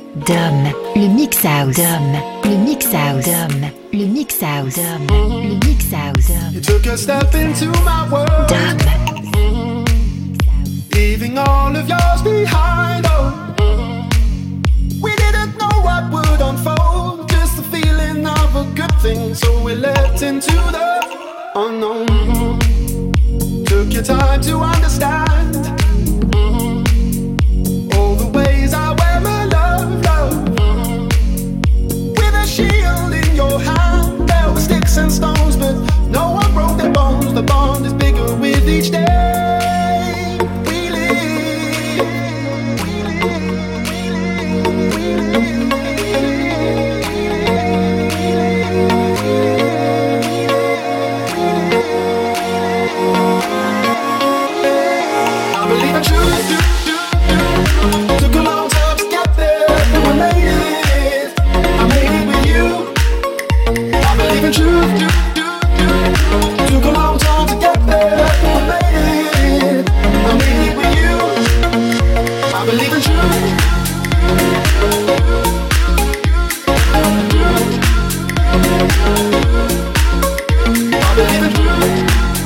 Dom, le mix house. Dom, le mix house. Dom, le mix house. Dom, le mix house. You took a step into my world, Dom, leaving all of yours behind. Oh, we didn't know what would unfold, just the feeling of a good thing. So we leapt into the unknown. Took your time to understand all the ways I wear my love, love. With a shield in your hand, there were sticks and stones, but no one broke their bones. The bond is bigger with each day we live. I believe in truth. Took a long time to get there, but I made it. I made it with you. I believe in truth. Took a long time to get there, but I made it. I made it with you. I believe in truth. I believe in truth.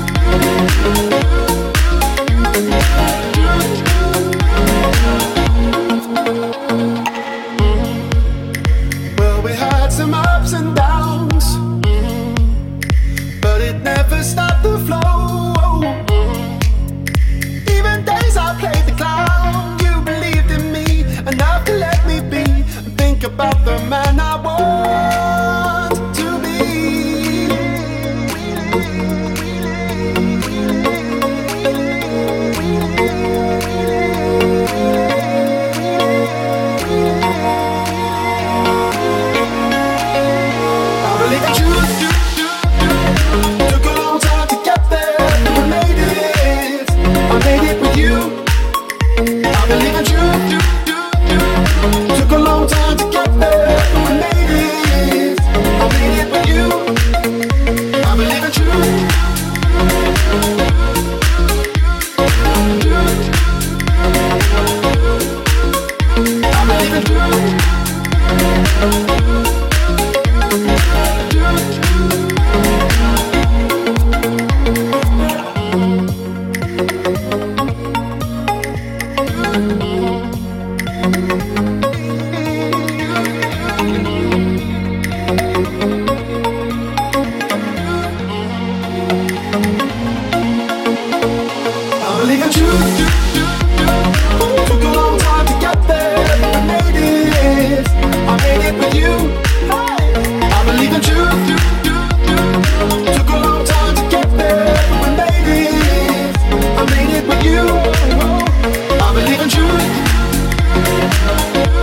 Well, we had some ups and downs, but it never stopped the flow. Even days I played the clown, you believed in me enough to let me be and think about the man I want to be. I believe in truth. Took a long time to get there, but I made it. I made it with you. I believe in truth. Took a long time to get there, but I made it. I made it with you. I believe in truth. I believe in truth. I believe in truth. Took a long time to get there, but I made it. I made it with you. I believe in truth. Took a long time to get there, but I made it. I made it with you. I believe in truth.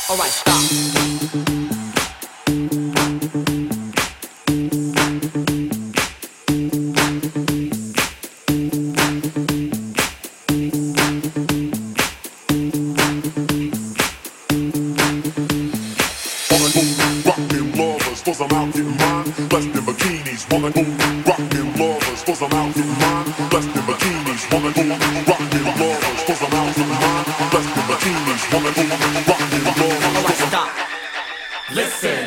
Alright, stop. Cause I'm out getting mine, blessed in bikinis, wanna go rockin' lovers, cause I'm out getting mine, blessed in bikinis, wanna go rockin' lovers, cause I'm out getting mine, blessed in bikinis, wanna go rockin' lovers. Alright, stop. Listen.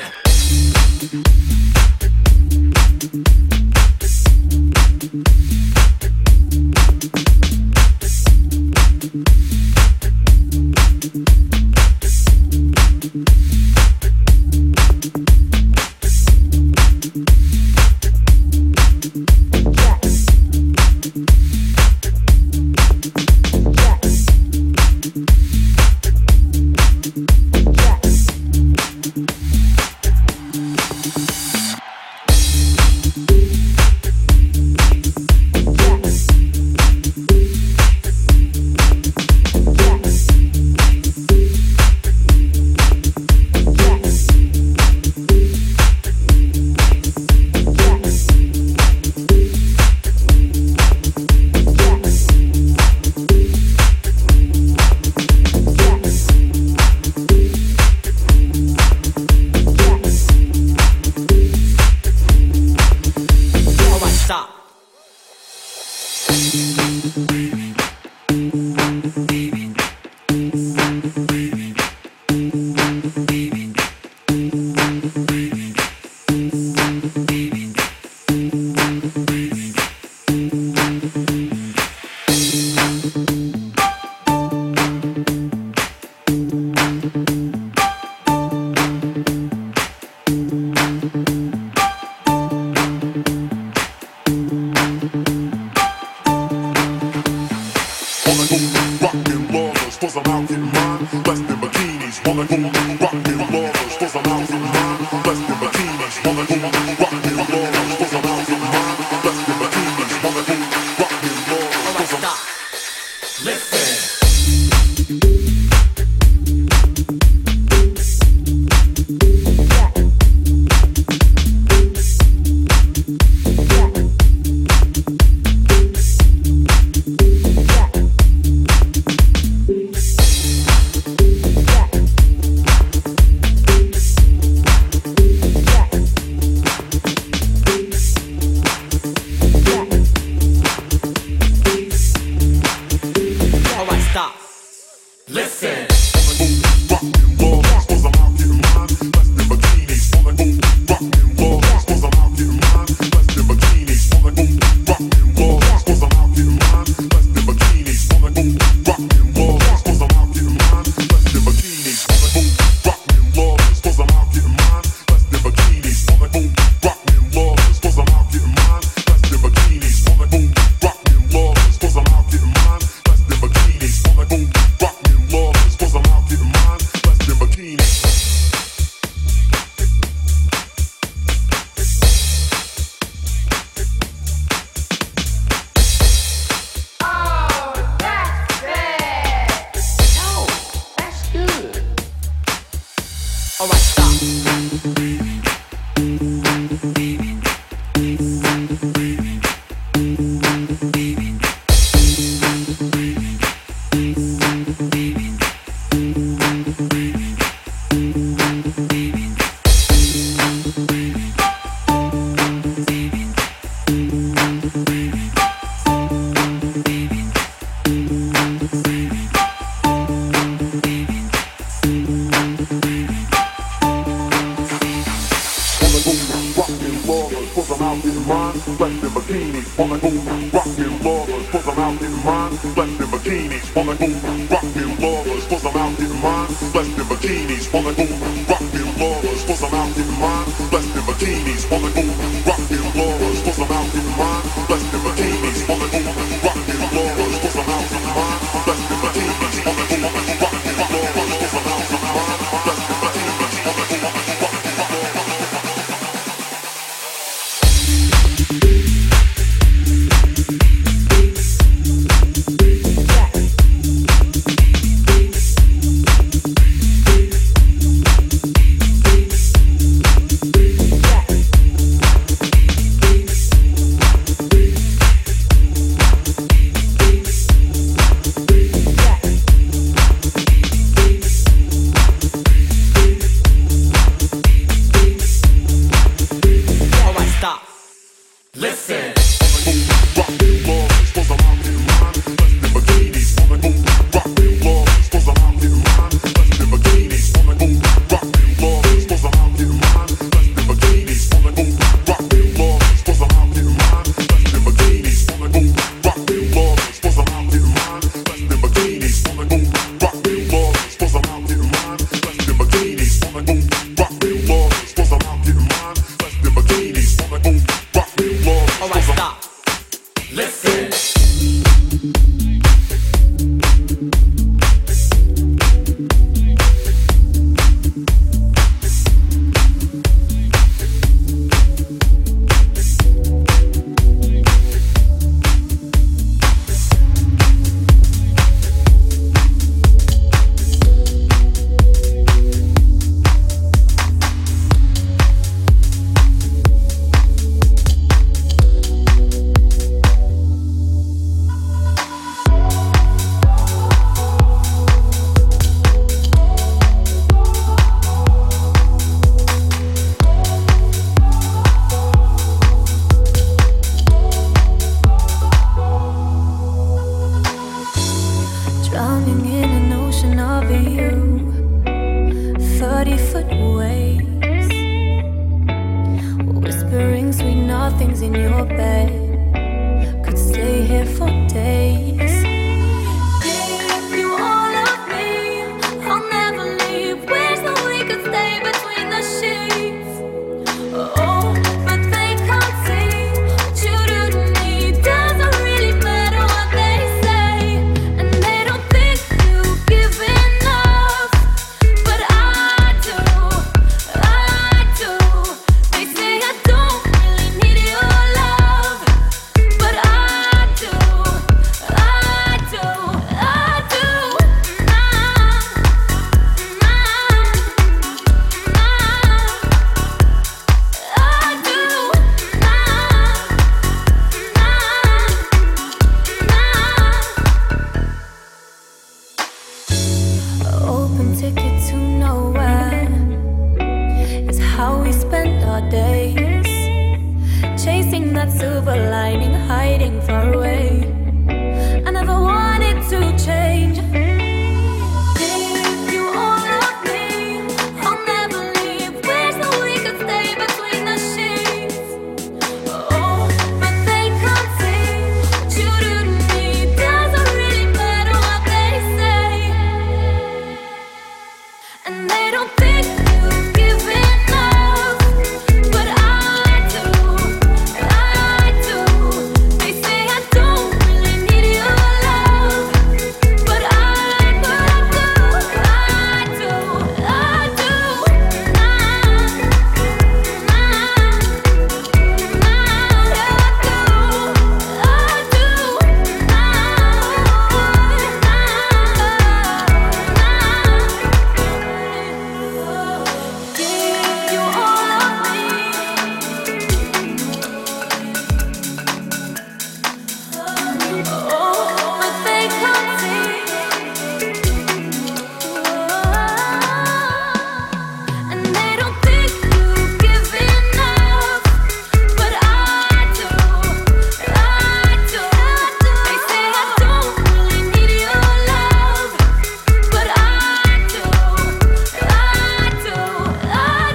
ticket to nowhere. It's how we spend our days, chasing that silver lining, hiding far away. I never wanted to change. Give you all of me, I'll never leave. Wish that we could stay between the sheets. Oh, but they can't see what you do to me. Doesn't really matter what they say, and they don't think you give enough, but I do. They say I don't really need your love, but I do. I do. I do. Give you all of me. Oh, but they can't see, and they don't think you give enough, but I do. I do. They say I don't really need your love, but I do. I do. I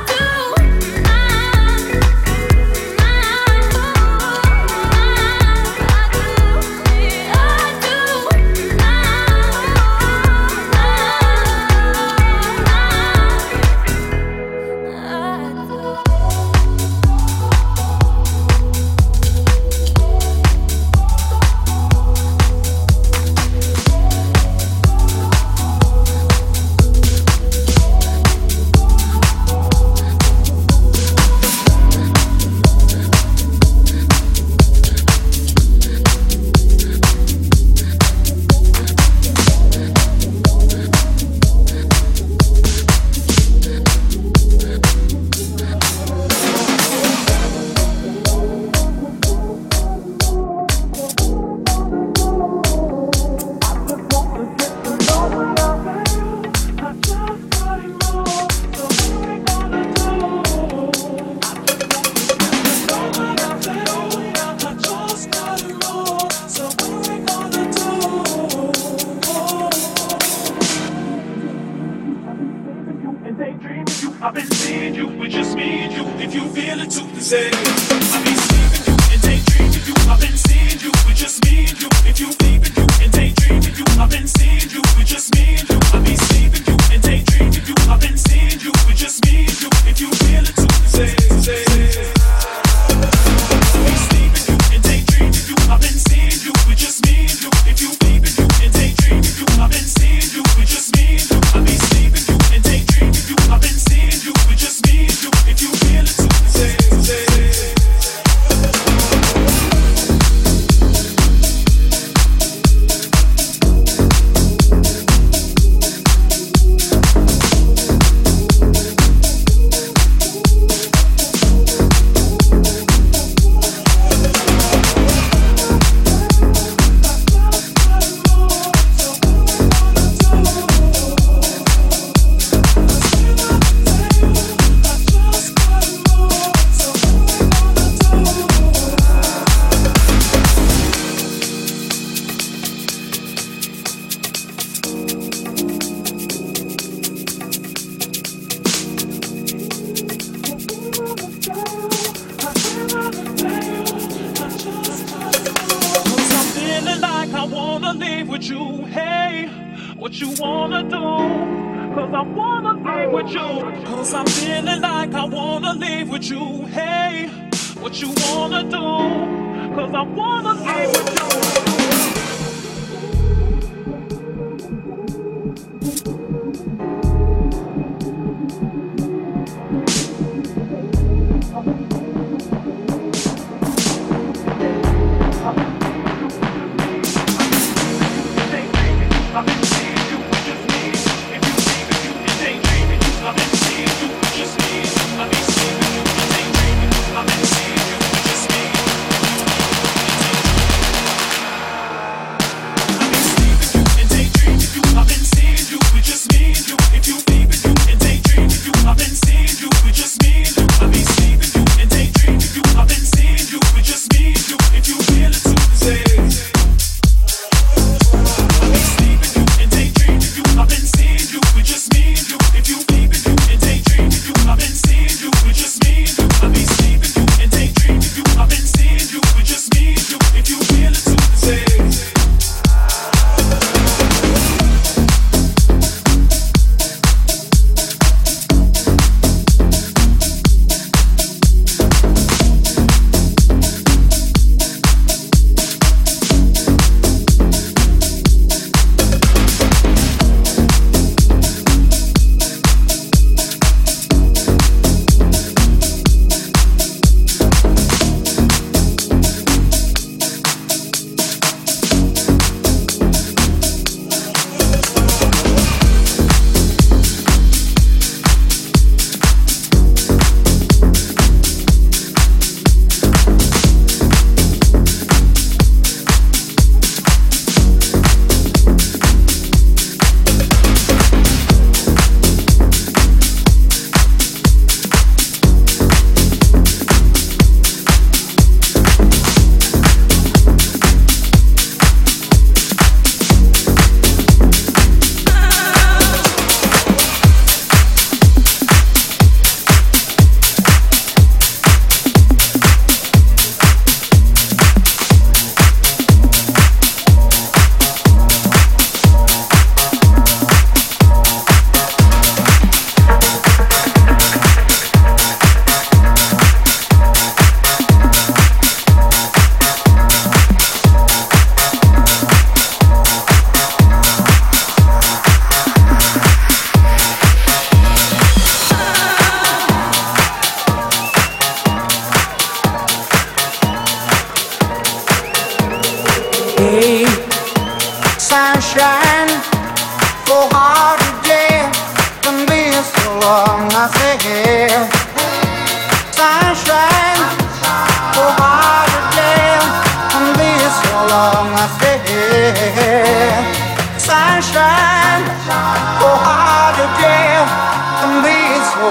and daydream of you. I've been seeing you with just me and you. If you feel it too, then say I've been seeing you and daydream of you. I've been seeing you with just me and you. If you feel it, you and daydream of you. I've been seeing you with just me and you. I've been seeing you and daydream of you. I've been seeing you with just me and you. If you feel it too, then say. I've been seeing you and daydream of you. I've been seeing you with just me and you. If you feel it, you and daydream of you. I've been seeing you with just me and you. I've been seeing you and daydream of you. I've been seeing you with just me and you. If you feel it too, say. What you wanna do? Cause I wanna leave with you. Cause I'm feeling like I wanna leave with you. Hey, what you wanna do? Cause I wanna leave with you.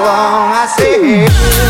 long. I say.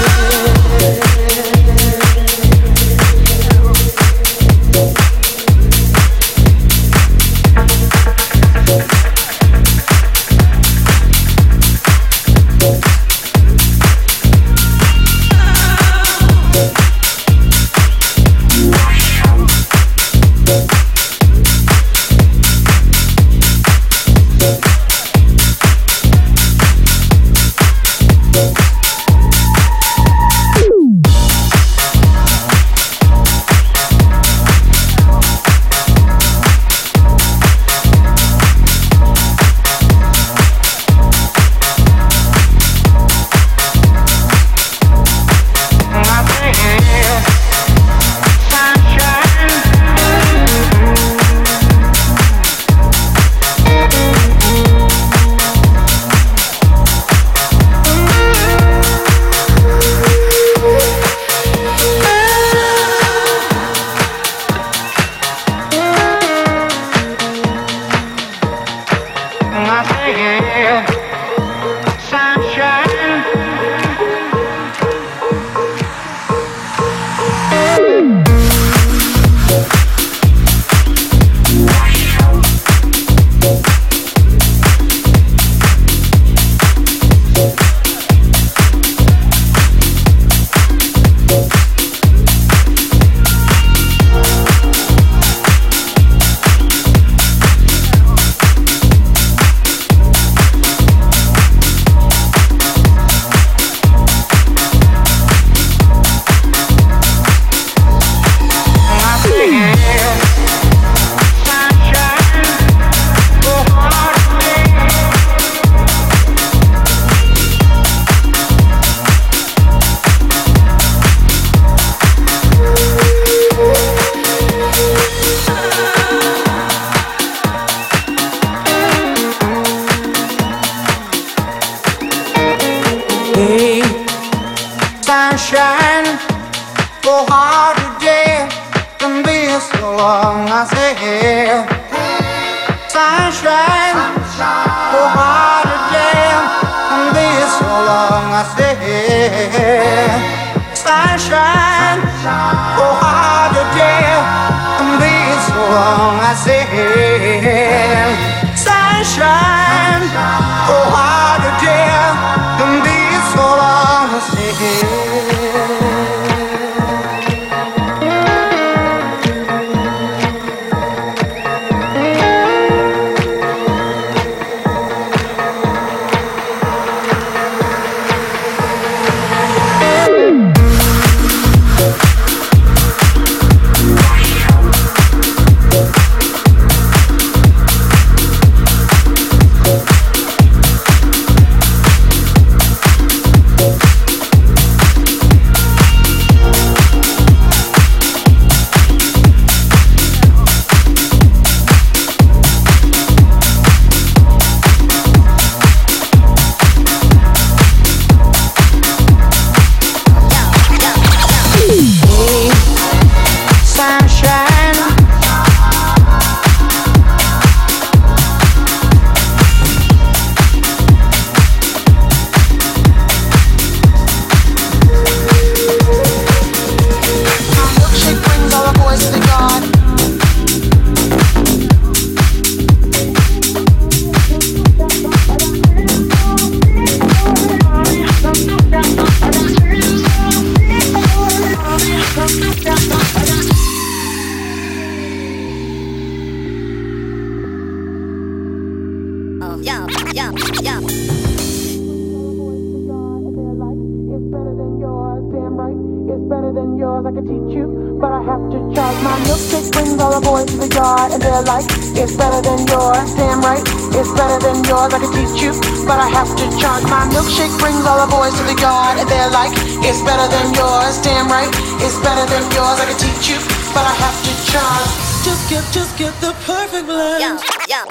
Just get the perfect blend. Yeah.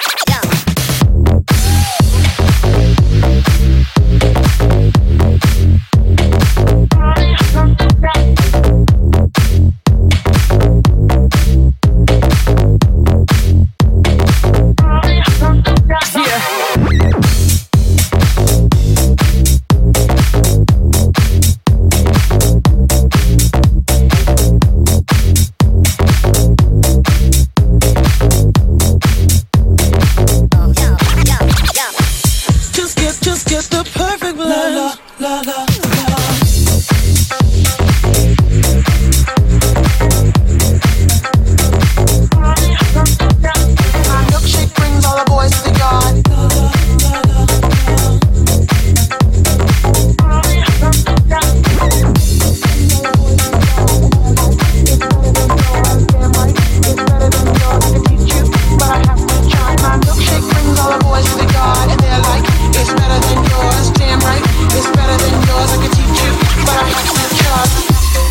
the perfect blend. La, la, la, la. My milkshake brings all the boys to the yard. My milkshake brings all the boys to the yard, and they're like, it's better than yours. Damn right, it's better than yours. I can teach you, but I have to charge.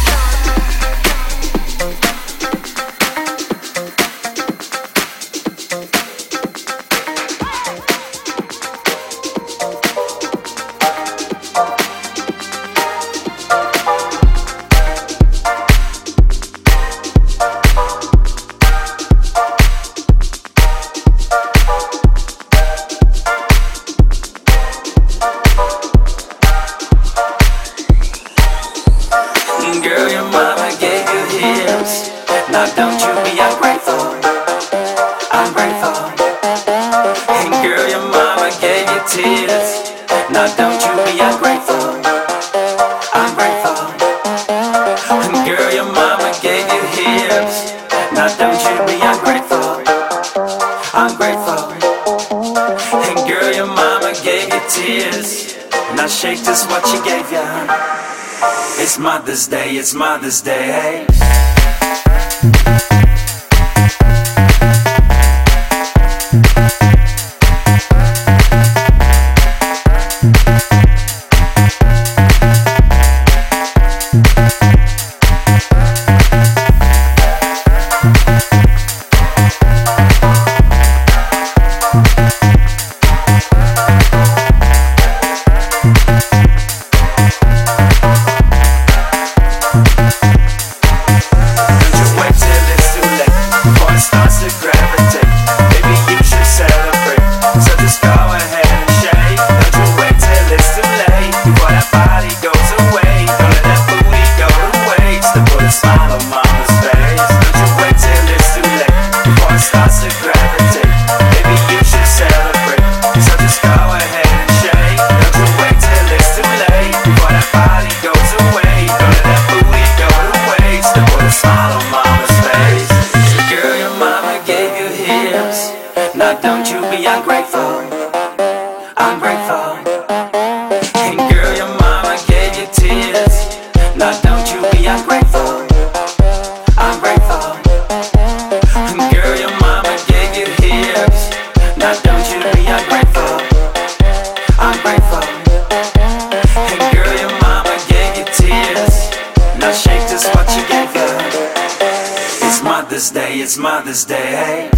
Girl, your mama gave you hips. Now don't you be ungrateful. Ungrateful. And girl, your mama gave you tears. Now don't you be ungrateful. Ungrateful. And girl, your mama gave you hips. Now don't you be ungrateful. Ungrateful. And girl, your mama gave you tears. Now shake just what she gave you. It's Mother's Day, it's Mother's Day, hey. It's Mother's Day,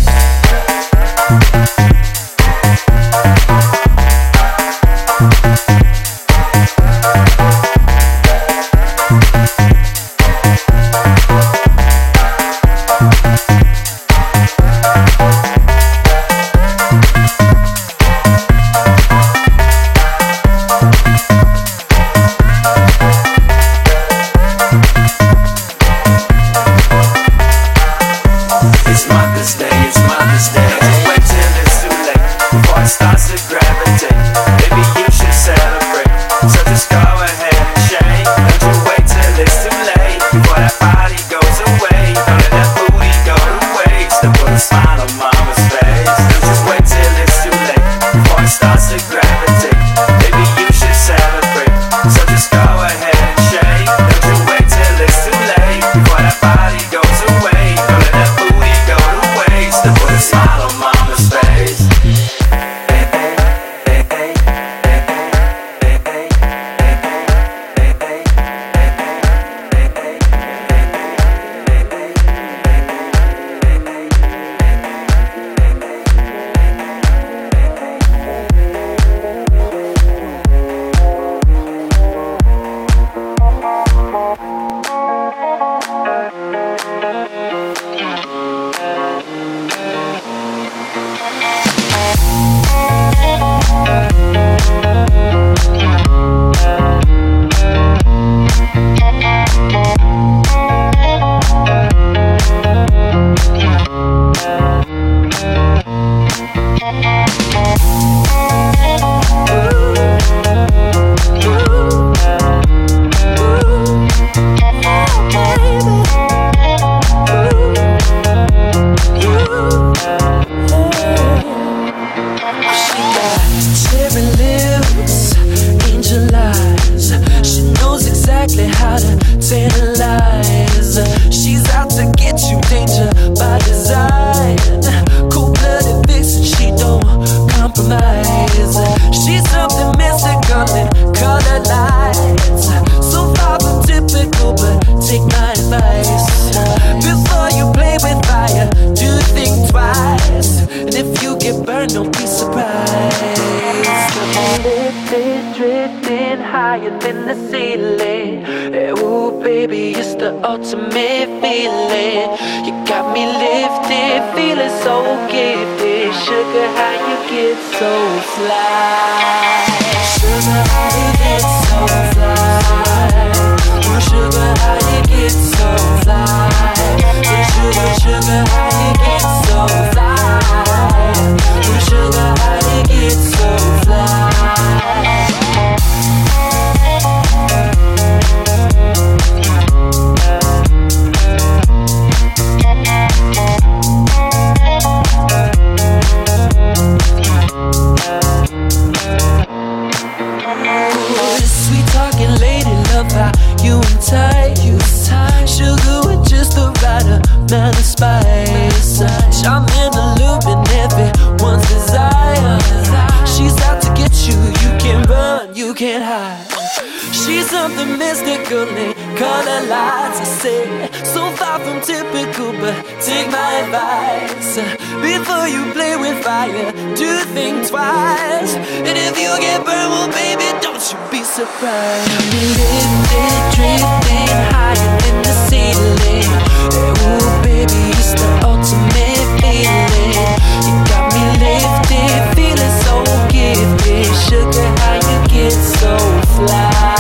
It's Mother's Day. color lights. So far from typical, but take my advice. Before you play with fire, do think twice. And if you get burned, don't be surprised. Lifted, drifting higher than the ceiling. Ooh, baby, it's the ultimate feeling. You got me lifted, feeling so gifted. Sugar, how you get so fly? Sugar, how you get so fly? Ooh, sugar, how you get so fly? Sugar, sugar, how you get so fly? Ooh, sugar, how you get so fly? Sweet talking lady, love how you entice. Sugar with just the right amount of spice. Charming, alluring, everyone's desire. She's out to get you, you can't run, you can't hide. She's something mystical in color lights. I say, so far from typical, but take my advice. Before you play with fire, do think twice. And if you get burned, well baby, don't you be surprised. Lifted, drifting higher than the ceiling. Ooh baby, it's the ultimate feeling. You got me lifted, feeling so gifted. Sugar, how you get so fly?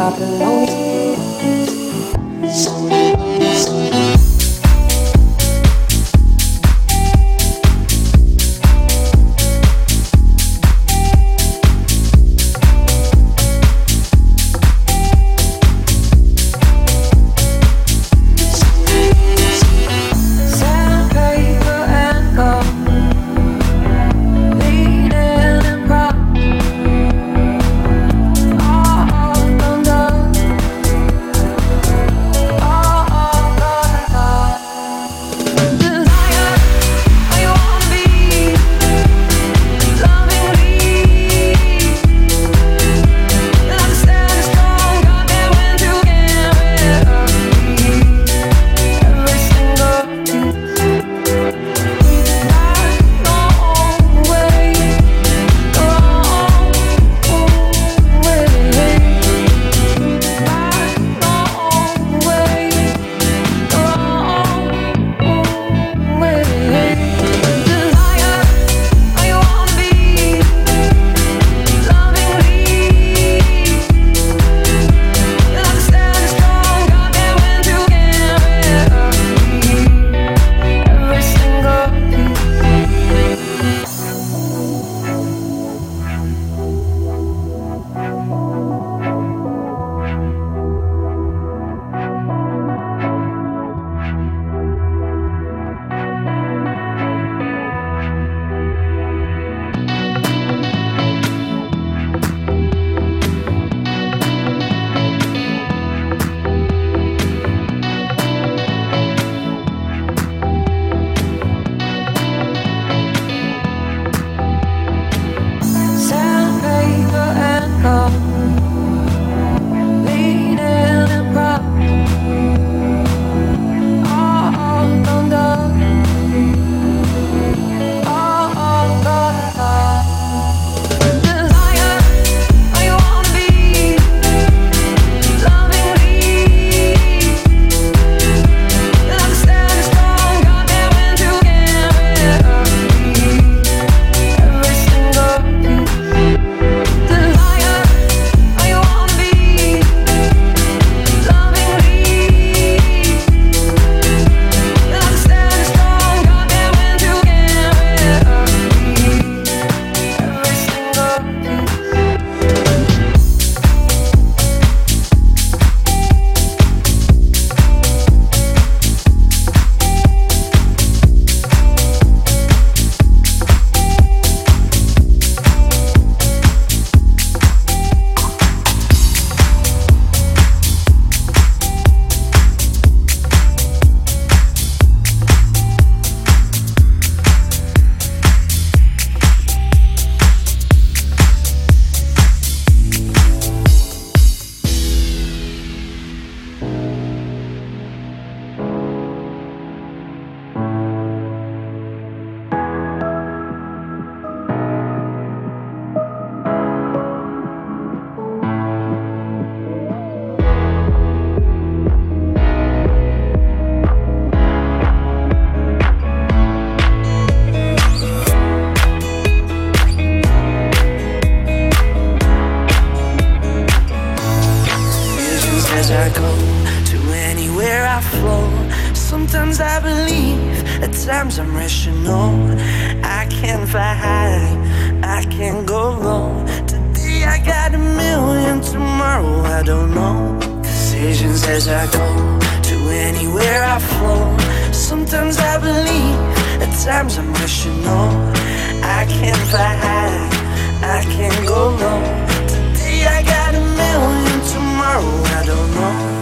Sometimes I believe, at times I'm rational. I can fly high, I can go low. Today I got a million, tomorrow I don't know. Decisions as I go, to anywhere I flow. Sometimes I believe, at times I'm rational. I can fly high, I can go low. Today I got a million, tomorrow I don't know.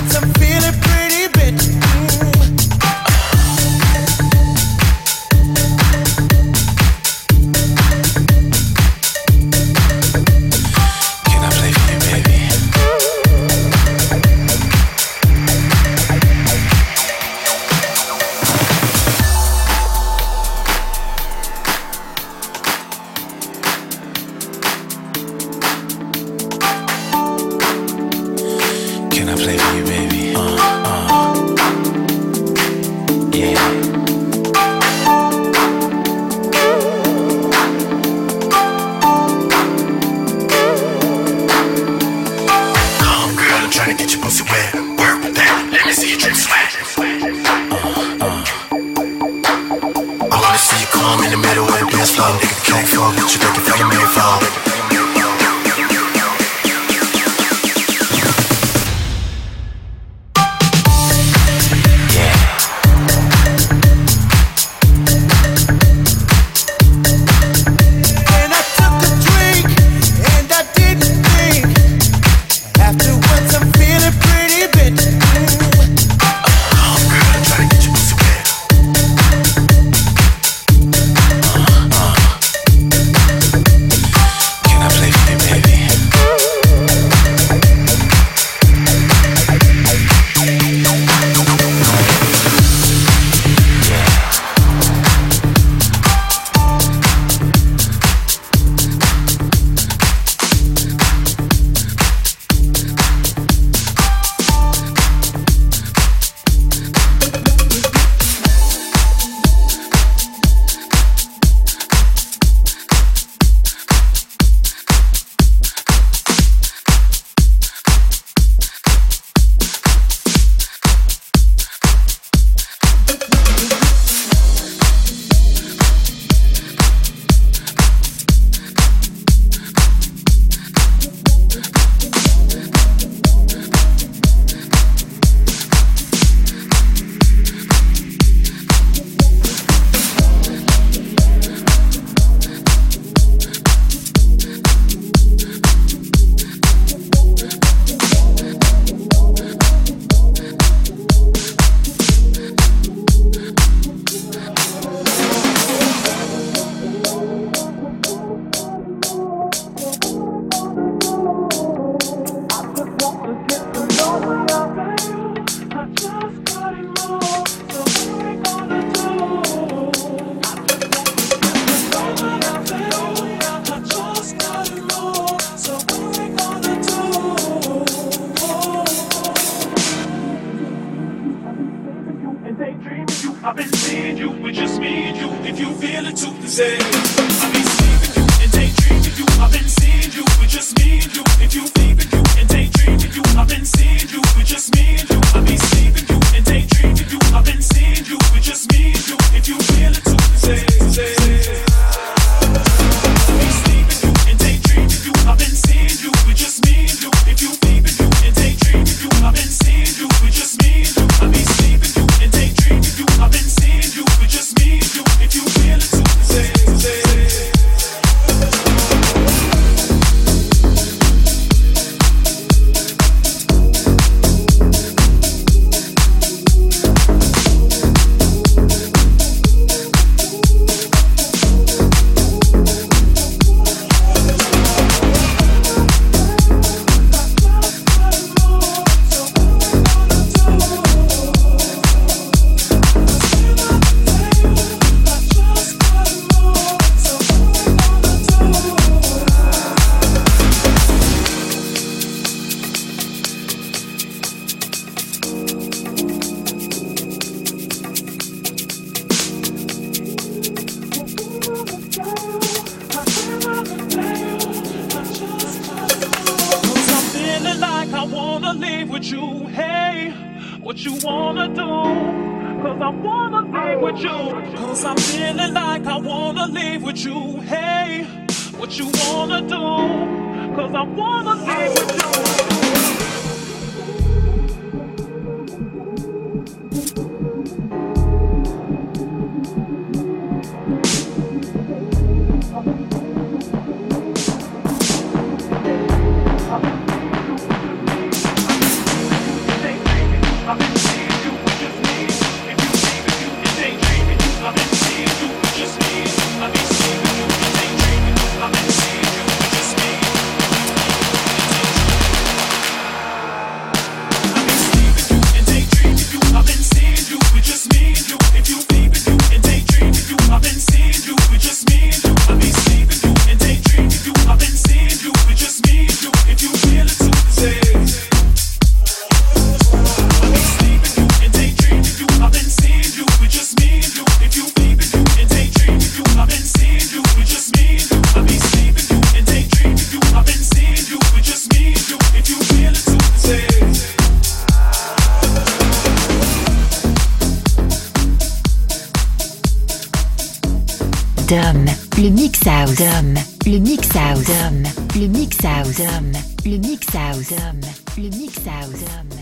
once, I'm feeling pretty bitch. Can I play for you, baby? Can I play for you, baby? Yeah. Come, girl, I'm trying to get your pussy wet. Work with that. Let me see you drip sweat. I wanna see you come in the middle of the dance floor. Nigga, the cake fall, get you looking for your main fall. And I took a drink, and I didn't think. Afterwards, I'm feeling pretty bitch. Oh, girl, I'm trying to get your pussy wet. Can I play for you, baby? And daydreaming you, I've been seeing you with just me and you. If you feel it too, then say I've been sleeping you and daydreaming you. I've been seeing you with just me and you. If you leaving you and daydreaming you, I've been seeing you with just me and you. I've been sleeping you and daydreaming you. I've been seeing you with just me and you. If you feel it too, then say. I've been sleeping you and daydreaming you. I've been seeing you with just me and you. If you leaving you and daydreaming you, I've been seeing you with just me and you. I've been sleeping you and daydreaming you. I've been seeing you with just me and you. If you feel it too, then say. What you wanna do? Cause I wanna leave with you. Cause I'm feeling like I wanna leave with you. Hey, what you wanna do? Cause I wanna leave with you. Dom, le Mix House, Dom, le Mix House, Dom, le Mix House, Dom, le Mix House, Dom, le Mix House, Dom.